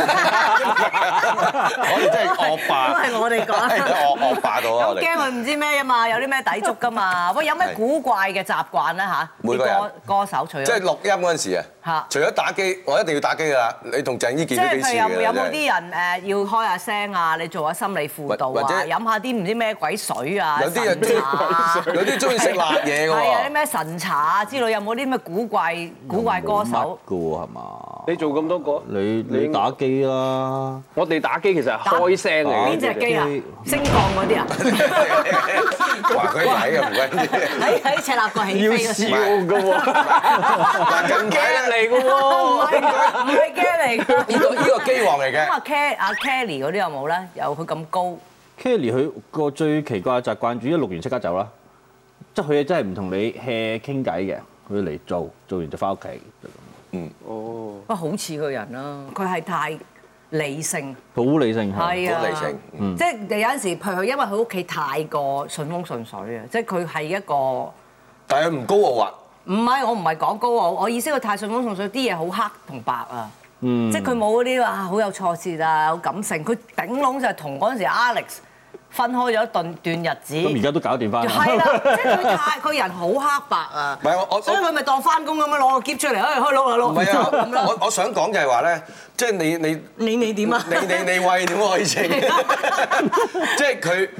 我哋真係惡霸。 都係我哋講。 惡惡霸到啊！ 咁驚佢唔知咩啊嘛，有啲咩抵觸㗎嘛？喂，有咩古怪嘅習慣咧嚇？ 每個人歌手除咗即係錄音嗰陣時啊， 嚇， 除咗打機，我一定要打機㗎啦。你同鄭伊健都幾似嘅。 即係有有冇啲人誒要開下聲啊？你做下心理輔導啊？飲下啲唔知咩鬼水啊？ 有啲人有啲中意食辣嘢㗎喎。 係啊，啲咩神茶啊之類，有冇啲咩古怪古怪歌手？ 㗎喎係嘛？ 你做咁多個， 你你打機啦。 我哋打機其實係開聲嚟嘅。 邊隻機啊？升降嗰啲啊？ 話佢睇嘅唔關事。 喺喺赤鱲角起飛嗰時。 要笑㗎喎， 咁驚嚟㗎喎。 唔係唔係驚嚟㗎。 呢個呢個機王嚟嘅。 咁啊 Kelly 阿 Kelly 嗰啲有冇咧？有佢咁高。 Kelly 佢個最奇怪嘅習慣，主一錄完即刻走啦，即係佢真係唔同你 hea 傾偈嘅，佢嚟做，做完就翻屋企。 嗯。 哦。不過好似個人啦，佢係太理性。 好理性係。 係啊。 好理性。 即係有陣時，譬如因為佢屋企太過順風順水啊，即係佢係一個。 但係佢唔高傲啊。 唔係，我唔係講高傲，我意思佢太順風順水，啲嘢好黑同白啊。 嗯。 即係佢冇嗰啲話好有挫折啊，好感性。佢頂籠就係同嗰陣時 Alex 分開咗一段段日子。 咁而家都搞掂翻。 係啦，即係佢太個人好黑白啊。 唔係我我。 所以佢咪當翻工咁樣攞個喼出嚟，哎開攞啊攞。 唔係啊，我我想講就係話咧，即係你你。 你你點啊？ 你你你喂點可以稱？即係佢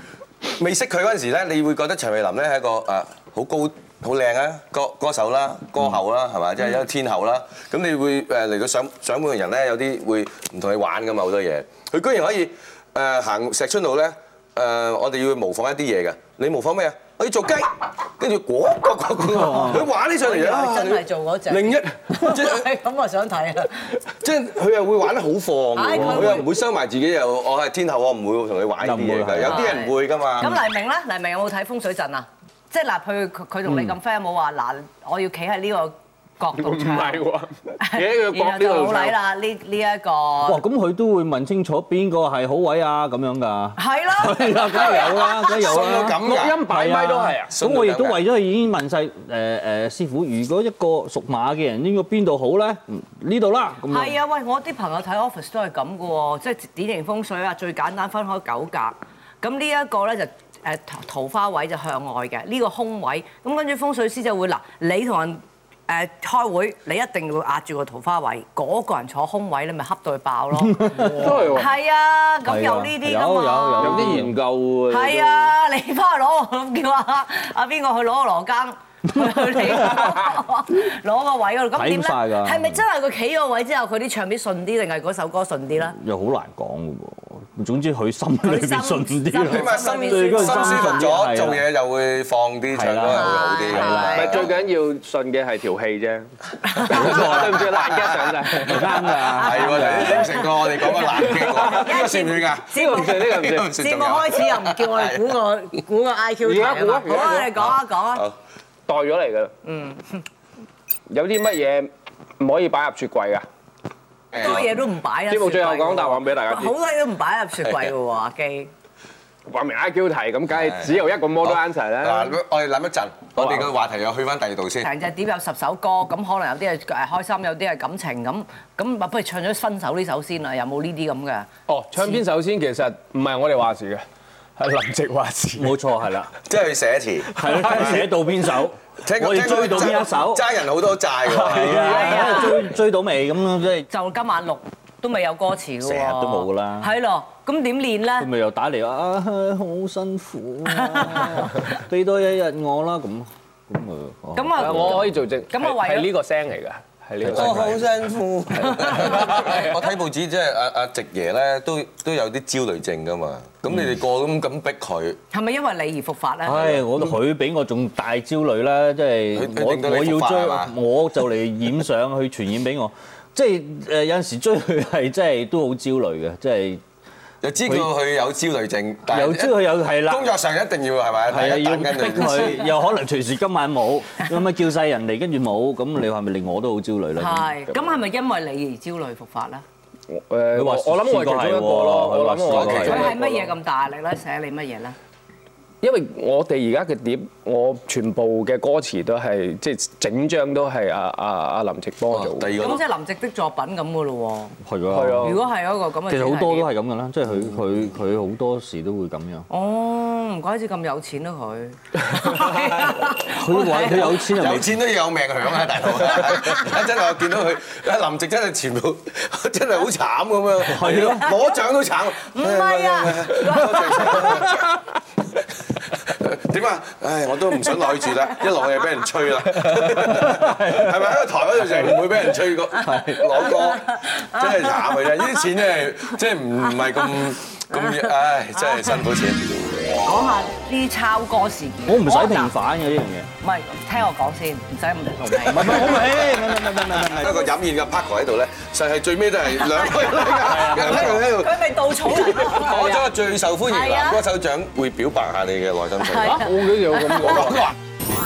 未識佢嗰陣時咧，你會覺得陳慧琳咧係一個誒好高好靚啊歌歌手啦、歌后啦，係嘛？即係一個天后啦。咁你會誒嚟到上上門嘅人咧，有啲會唔同你玩㗎嘛，好多嘢。佢居然可以誒行石春路咧，誒我哋要模仿一啲嘢㗎。你模仿咩啊？我要做雞，跟住果果果果，佢玩起上嚟啊！ 真係做嗰隻。 另一即係咁我想睇啊！ 即係佢又會玩得好放嘅喎，佢又唔會收埋自己又我係天后，我唔會同你玩呢啲嘢㗎。有啲人會㗎嘛。 咁黎明咧？黎明有冇睇風水陣啊？即係嗱，佢佢同你咁 friend 有冇話嗱，我要企喺呢個角度唱？唔係喎，企喺個角呢度好禮啦，呢呢一個。哇！ 咁佢都會問清楚邊個係好位啊咁樣㗎。 係咯。 係啊，梗係有啦，梗係有啦。 錄音擺咪都係啊。 咁我亦都為咗已經問晒誒誒師傅，如果一個屬馬嘅人應該邊度好咧？呢度啦。 係啊，喂！我啲朋友睇 Office 都係咁嘅喎，即係典型風水啊，最簡單分開九格。咁呢一個咧就。誒桃花位就向外嘅，呢個空位，咁跟住風水師就會嗱，你同人誒開會，你一定要壓住個桃花位，嗰個人坐空位，你咪恰到佢爆咯。 都係喎。係啊，咁有呢啲㗎嘛。 有有有啲研究喎。 係啊，你翻去攞，叫阿阿邊個去攞個羅庚。去你攞個位嗰度，咁點咧？係咪真係佢企個位之後，佢啲唱片順啲，定係嗰首歌順啲咧？ 又好難講嘅喎。總之佢心裏邊順啲。 起碼心心舒服咗，做嘢又會放啲，唱歌又會好啲。 唔係最緊要順嘅係條氣啫。對唔住，爛 gag 上曬，唔啱㗎。 係喎，你應承過我哋講個爛 gag 喎，呢個算唔算㗎？ 節目呢個唔算。節目開始又唔叫我哋估個估個 I Q 題啊嘛。好啊，你講啊講啊。 代咗嚟㗎啦。嗯。有啲乜嘢唔可以擺入雪櫃㗎？ 好多嘢都唔擺啊！ 節目最後講答案俾大家知。 好多嘢都唔擺入雪櫃㗎喎，阿基。 話明 I Q 題咁，梗係只有一個 model answer 啦。 嗱，我哋諗一陣，我哋個話題又去翻第二度先。 成隻碟有十首歌，咁可能有啲係誒開心，有啲係感情咁。咁不如唱咗分手呢首先啦，有冇呢啲咁嘅？ 哦，唱邊首先其實唔係我哋話事嘅，係林夕話事。 冇錯，係啦， 即係佢寫詞， 係啦，寫到邊首？我哋追到邊一首？ 爭人好多債㗎。 係啊，追追到未咁樣即係。 就今晚錄都未有歌詞㗎喎。 成日都冇㗎啦。 係咯，咁點練咧？ 佢咪又打嚟話啊，好辛苦啊，俾多一日我啦咁，咁啊。 咁啊， 我可以做證。咁啊，為係呢個聲嚟㗎。係呢個。 我好辛苦。我睇報紙即係阿阿夕爺咧，都都有啲焦慮症㗎嘛。咁你哋個咁咁逼佢， 係咪因為你而復發咧？ 唉，我佢比我仲大焦慮啦，即係我我要追，我就嚟染上去傳染俾我，即係誒有陣時追佢係真係都好焦慮嘅，即係又知道佢有焦慮症， 又知佢有係啦， 工作上一定要係咪？ 係啊，要逼佢，又可能隨時今晚冇，咁啊叫晒人嚟，跟住冇，咁你係咪令我都好焦慮咧？ 係，咁係咪因為你而焦慮復發咧？ 誒，我我諗我係其中一個咯，我諗我係其中一個。 佢係乜嘢咁大壓力咧？寫你乜嘢咧？ 因為我哋而家嘅碟，我全部嘅歌詞都係即係整張都係阿阿阿林夕幫我做。 第二個咁即係林夕的作品咁嘅咯喎。 係啊。 係啊。 如果係嗰個咁嘅， 其實好多都係咁嘅啦，即係佢佢佢好多時都會咁樣。 哦，唔怪之咁有錢啦佢。 佢話佢有錢， 有錢都要有命享啊，大佬！真係我見到佢，阿林夕真係全部真係好慘咁樣。係咯，攞獎都慘。 唔係啊。 點啊？唉，我都唔想落去住啦，一落去就俾人吹啦，係咪喺個台嗰度就唔會俾人吹過攞歌，真係慘嘅啫！呢啲錢真係即係唔唔係咁咁，唉，真係辛苦錢。 講下啲抄歌事件， 我唔使平反嘅呢樣嘢。 唔係，聽我講先，唔使咁同你。 唔係唔係，好味，唔係唔係唔係唔係。 一個飲宴嘅 Paco 喺度咧，實係最尾都係兩個人喺度。 佢咪稻草人咯。 攞咗個最受歡迎男歌手獎，會表白下你嘅內心世界。 我都有咁講啊。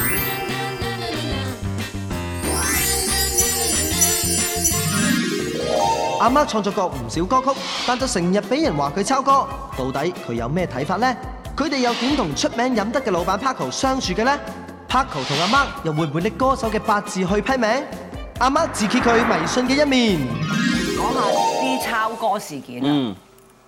阿 Mark 創作過唔少歌曲，但就成日俾人話佢抄歌，到底佢有咩睇法呢？佢哋又點同出名飲得嘅老闆 Paco 相處嘅呢？ Paco 同阿 Mark 又會唔會拎歌手嘅八字去批名？阿 Mark 自揭佢迷信嘅一面， 講下啲抄歌事件啊！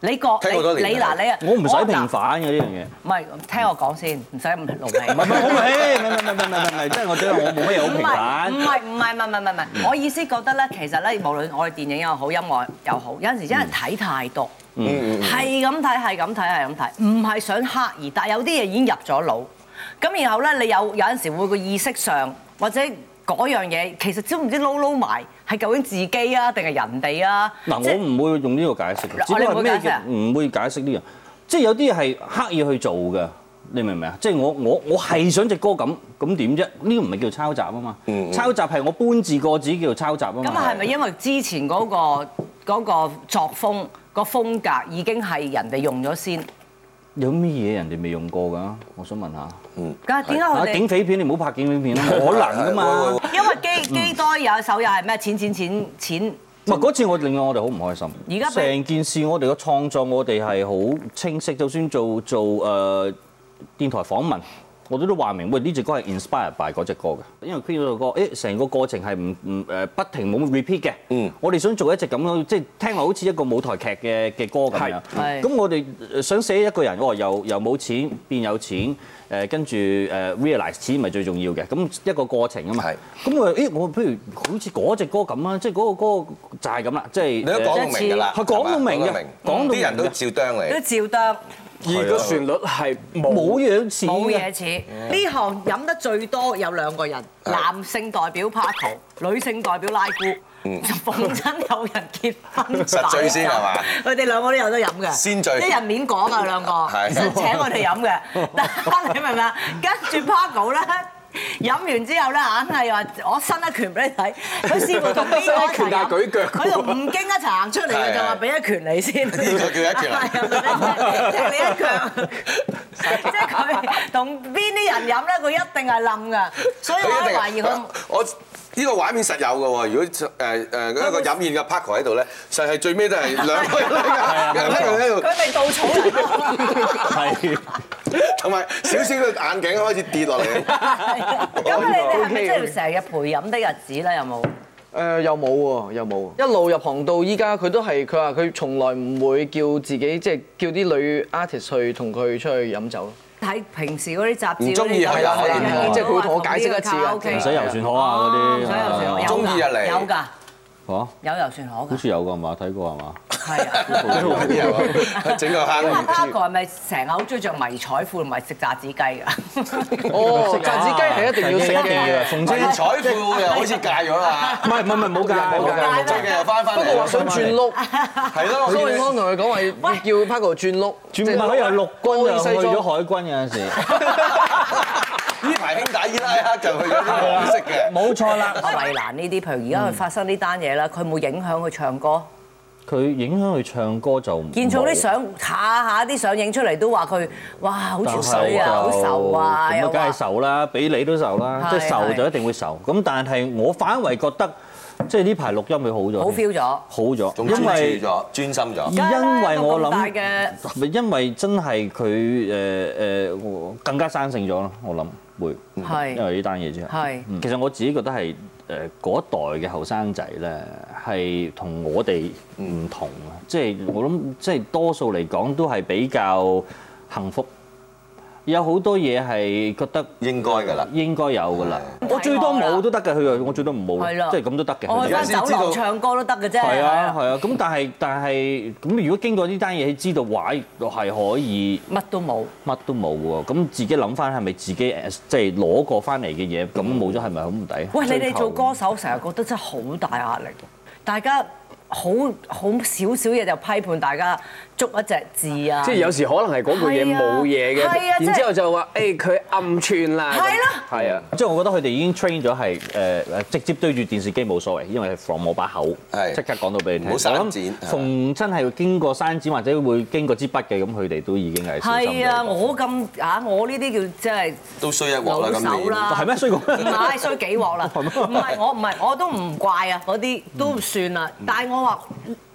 你覺你你嗱你啊， 我唔使平反嘅呢樣嘢。 唔係，聽我講先，唔使咁勞氣。 唔係唔係，我唔係，唔係唔係唔係唔係，即係我覺得我冇乜嘢好平反。 唔係唔係唔係唔係唔係，我意思覺得咧，其實咧，無論我哋電影又好，音樂又好，有陣時真係睇太多，係咁睇係咁睇係咁睇，唔係想刻意，但係有啲嘢已經入咗腦。咁然後咧，你有有陣時會個意識上或者。嗰樣嘢其實知唔知撈撈埋係究竟自己啊定係人哋啊？嗱， 我唔會用呢個解釋嘅，只不過咩嘅唔會解釋呢樣，即係有啲係刻意去做嘅，你明唔明啊？即係我我我係想隻歌咁咁點啫？呢個唔係叫抄襲啊嘛，抄襲係我搬字過紙叫做抄襲啊嘛。 咁係咪因為之前嗰個嗰個作風個風格已經係人哋用咗先？ 有咩嘢人哋未用過㗎？我想問下。 嗯。但係點解佢哋？ 警匪片你唔好拍警匪片啦，冇可能㗎嘛。 因為基基多有一首又係咩錢錢錢錢。 唔係嗰次我令到我哋好唔開心。 而家成件事我哋嘅創作我哋係好清晰，就算做做誒電台訪問，我哋都話明喂呢隻歌係 inspired by 嗰隻歌嘅，因為編咗個歌，誒成個過程係唔唔誒不停冇 repeat 嘅。嗯。我哋想做一隻咁樣，即係聽落好似一個舞台劇嘅嘅歌咁樣。係。咁我哋想寫一個人，哦由由冇錢變有錢，誒跟住誒 realize 錢咪最重要嘅，咁一個過程啊嘛。係。咁我誒我不如好似嗰隻歌咁啊，即係嗰個歌就係咁啦，即係。你都講到明㗎啦。係講到明嘅，講到啲人都照啄你。都照啄。 而個旋律係冇嘢似， 冇嘢似。呢行飲得最多有兩個人，男性代表 Paco，女性代表拉姑。逢親有人結婚， 實醉先係嘛？ 佢哋兩個都有得飲嘅， 先醉， 一人面講啊兩個，想請我哋飲嘅。但係你明唔明啊？跟住 Paco 咧。飲完之後咧，硬係話我伸一拳俾你睇。佢試過同邊個一齊飲？佢同吳京一齊行出嚟嘅就話俾一拳你先。呢個叫一拳啊！即係你一拳，即係佢同邊啲人飲咧，佢一定係冧㗎。所以我懷疑佢。 我呢個畫面實有嘅喎。如果誒誒一個飲宴嘅 Paco 喺度咧，實係最尾都係兩個人喺度。 佢哋稻草人咯。 係。同埋少少嘅眼鏡開始跌落嚟。 咁你哋係咪真係成日陪飲的日子咧？有冇？ 誒又冇喎，又冇。一路入行到依家，佢都係佢話佢從來唔會叫自己即係叫啲女 artist 去同佢出去飲酒咯。 睇平時嗰啲雜誌， 唔中意係啊， 即係佢會同我解釋一次嘅。 唔使遊船河啊嗰啲。 唔使遊船河。 中意入嚟。 有㗎。 嚇？ 有遊船河㗎。 好似有㗎嘛？睇過係嘛？ 係啊， 整個坑。 咁阿 Paco 係咪成日好中意着迷彩褲同埋食炸子雞㗎？ 哦，炸子雞係一定要食嘅。 迷彩褲又好似戒咗啦。 唔係唔係唔係冇戒冇戒， 最近又翻返嚟。 不過話想轉碌， 係咯。 蘇永康同佢講話要叫 Paco 轉碌， 轉唔係佢又陸軍又去咗海軍有陣時。 呢排兄弟伊拉克就去咗啲黃色嘅。 冇錯啦。 衛蘭呢啲，譬如而家佢發生呢單嘢啦，佢冇影響佢唱歌。 佢影響佢唱歌就見到啲相下下啲相影出嚟都話佢哇好潮水啊，好愁啊， 咁啊梗係愁啦，俾你都愁啦，即係愁就一定會愁。咁但係我反為覺得，即係呢排錄音佢好咗， 好 feel 咗， 好咗， 仲專注咗，專心咗。 因為我諗，因為真係佢誒誒更加生性咗咯，我諗會，因為呢單嘢之後。係，其實我自己覺得係。誒嗰一代嘅後生仔咧，係同我哋唔同啊！即係我諗，即係多數嚟講都係比較幸福。有好多嘢係覺得應該㗎啦， 應該有㗎啦。我最多冇都得嘅，佢話我最多唔冇，即係咁都得嘅。 我喺酒樓唱歌都得嘅啫。 係啊係啊，咁但係但係咁，如果經過呢單嘢，知道話係可以乜都冇， 乜都冇喎。咁自己諗翻係咪自己即係攞過翻嚟嘅嘢，咁冇咗係咪好唔抵？ 喂，你哋做歌手成日覺得真係好大壓力，大家。好好少少嘢就批判大家捉一隻字啊！ 即係有時可能係嗰句嘢冇嘢嘅，然之後就話誒佢暗串啦。係咯，係啊， 即係我覺得佢哋已經 train 咗係誒誒直接對住電視機冇所謂，因為係 from 我把口，即刻講到俾你聽。 冇刪剪， 逢真係經過刪剪或者會經過支筆嘅，咁佢哋都已經係小心。 係啊，我咁啊，我呢啲叫即係都衰一鑊啦，咁老手啦， 係咩衰過？ 唔係衰幾鑊啦，唔係我唔係我都唔怪啊，嗰啲都算啦，但係我。話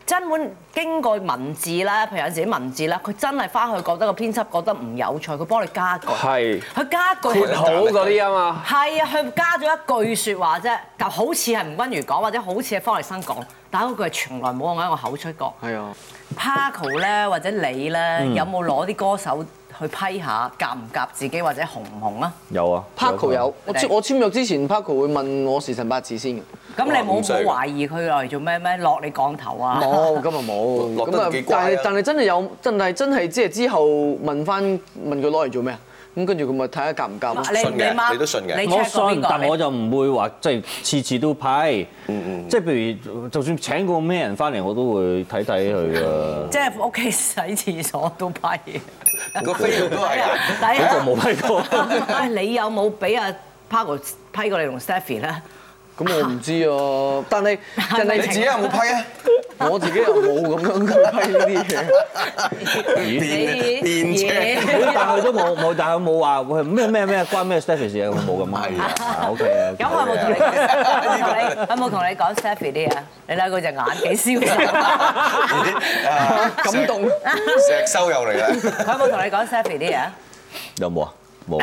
真本經過文字啦，譬如有時啲文字啦，佢真係翻去覺得個編輯覺得唔有趣，佢幫你加句。係。佢加句括好嗰啲啊嘛。係啊，佢加咗一句説話啫，就好似係吳君如講，或者好似係方力申講，但係嗰句係從來冇我喺我口出過。 係啊。 Paco 咧或者你咧，有冇攞啲歌手去批下夾唔夾自己或者紅唔紅啊？ 有啊 ，Paco 有。我我簽約之前 Paco 會問我時辰八字先嘅。 咁你冇冇懷疑佢嚟做咩咩落你降頭啊？ 冇，咁啊冇。咁啊，但係但係真係有，真係真係即係之後問翻問佢攞嚟做咩啊？咁跟住佢咪睇下夾唔夾咯？ 信嘅，你都信嘅。 我信，但我就唔會話即係次次都批。嗯嗯。即係譬如，就算請個咩人翻嚟，我都會睇睇佢㗎。 即係屋企洗廁所都批。 個飛都係啊！ 嗰個冇批過。 喂，你有冇俾阿 Paco 批過你同 Stephy 咧？ 咁我唔知啊，但係但係你自己有冇批啊？ 我自己又冇咁樣去批呢啲嘢。 你電車， 但係都冇冇，但係冇話咩咩咩關咩 Stephy 事啊？冇咁啊。OK 啊。 咁我有冇同你有冇同你講 Stephy 啲啊？你睇佢隻眼幾瀟灑， 感動， 石修又嚟啦。 有冇同你講 Stephy 啲啊？ 有冇啊？冇。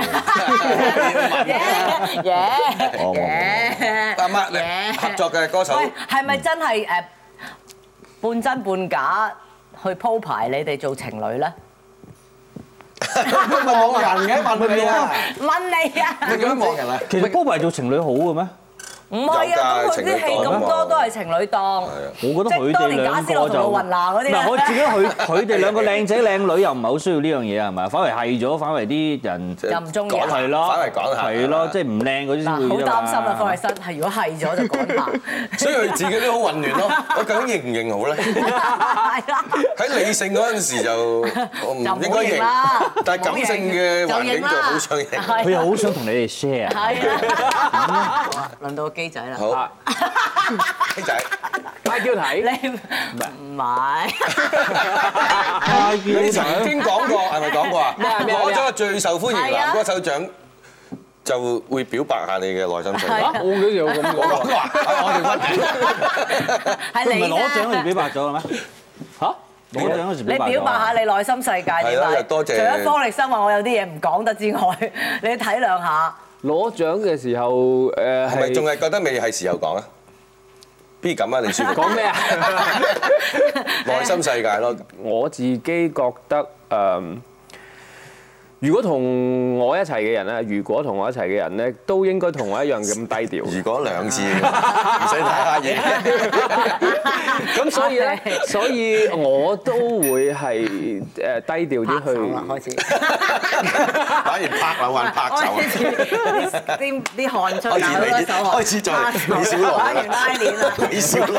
耶耶！ 阿媽，你合作嘅歌手， 喂，係咪真係誒半真半假去鋪排你哋做情侶咧？ 望人嘅問你啊！ 問你啊！ 你做乜望人啊？ 其實鋪排做情侶好嘅咩？ 唔係啊，咁佢啲戲咁多都係情侶檔。 我覺得佢哋兩個就嗱，我自己佢佢哋兩個靚仔靚女又唔係好需要呢樣嘢係咪？反為係咗，反為啲人又唔中意。 係咯， 反為講下。 係咯，即係唔靚嗰啲先會。 好擔心啊，方力申係如果係咗就講下。 所以佢自己都好混亂咯。我究竟認唔認好咧？ 係啦。 喺理性嗰陣時就我唔應該認，但係感性嘅環境就好想認。 佢又好想同你哋 share。 係啊。輪到機仔啦。 好。機仔， 派叫睇。 你唔係。 你曾經講過係咪講過啊？攞咗個最受歡迎男歌手獎就會表白下你嘅內心世界。 我幾時有咁講過？ 我哋分係你唔係攞獎嗰時表白咗嘅咩？嚇？攞獎嗰時表白咗。 你表白下你內心世界點啊？ 多謝。 除咗方力申話我有啲嘢唔講得之外，你體諒下。 攞獎嘅時候誒係咪仲係覺得未係時候講啊？不如咁啊，你説講咩啊？ 內心世界咯， 我自己覺得誒，如果同我一齊嘅人咧，如果同我一齊嘅人咧，都應該同我一樣咁低調。 如果兩次唔使睇下嘢， 咁所以咧，所以我都會係誒低調啲去。 開始， 反而拍兩還拍手， 啲啲汗出開始你開始再李小龍， 玩完拉鏈啦， 李小龍，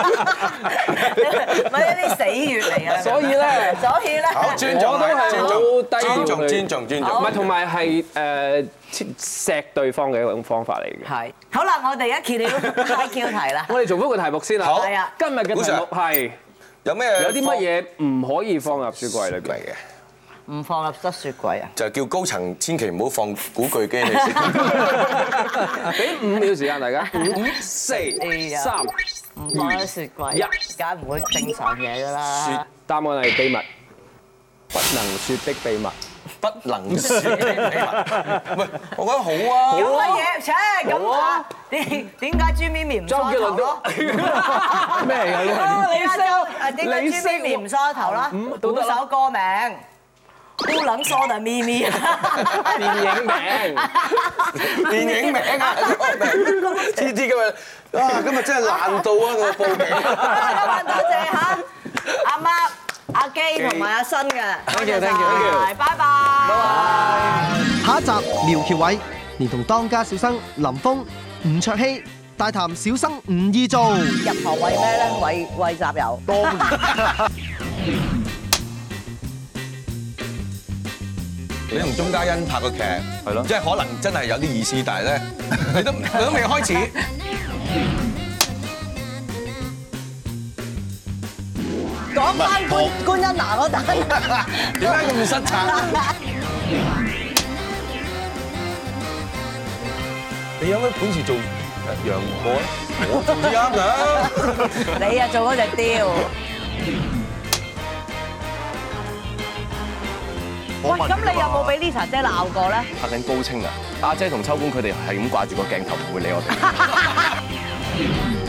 咪一啲死穴嚟啊！ 所以咧， 所以咧， 尊重我都係好低調尊重尊重尊重， 唔係同埋係誒錫對方嘅一種方法嚟嘅。 係。好啦，我哋而家揭曉 I Q 題啦。 我哋重複個題目先啦。 好。 係啊。 今日嘅題目係有咩有啲乜嘢唔可以放入雪櫃裏邊嘅？ 唔放入得雪櫃啊！ 就叫高層千祈唔好放古巨基你先。 俾五秒時間大家，五、四、三、 唔放喺雪櫃， 一， 梗係唔會正常嘢㗎啦。 答案係秘密，不能説的秘密。 不能説的秘密。喂，我覺得好啊。 有乜嘢？切咁啊？點點解朱咪咪唔梳頭咯？ 咩嚟㗎？ 你識？點解朱咪咪唔梳頭啦？估首歌名。不能梳的咪咪。 電影名。 電影名啊！知知今日啊，今日真係爛到啊個報名。 今日多謝嚇阿媽、阿基同埋阿新嘅。 Thank you，thank you， 拜拜。拜拜。 下一集苗僑偉連同當家小生林峰、吳卓羲大談小生唔易做。 入行為咩咧？為為集郵。當然。 你同鐘嘉欣拍個劇， 係咯， 即係可能真係有啲意思，但係咧，你都你都未開始。 講翻觀觀音娜嗰單， 點解咁失策？你有咩本事做楊過咧？我做啱㗎。 你啊做嗰隻雕。 喂，咁你有冇俾 Lisa 姐鬧過咧？ 拍緊高清啊！阿姐同秋官佢哋係咁掛住個鏡頭，唔會理我哋。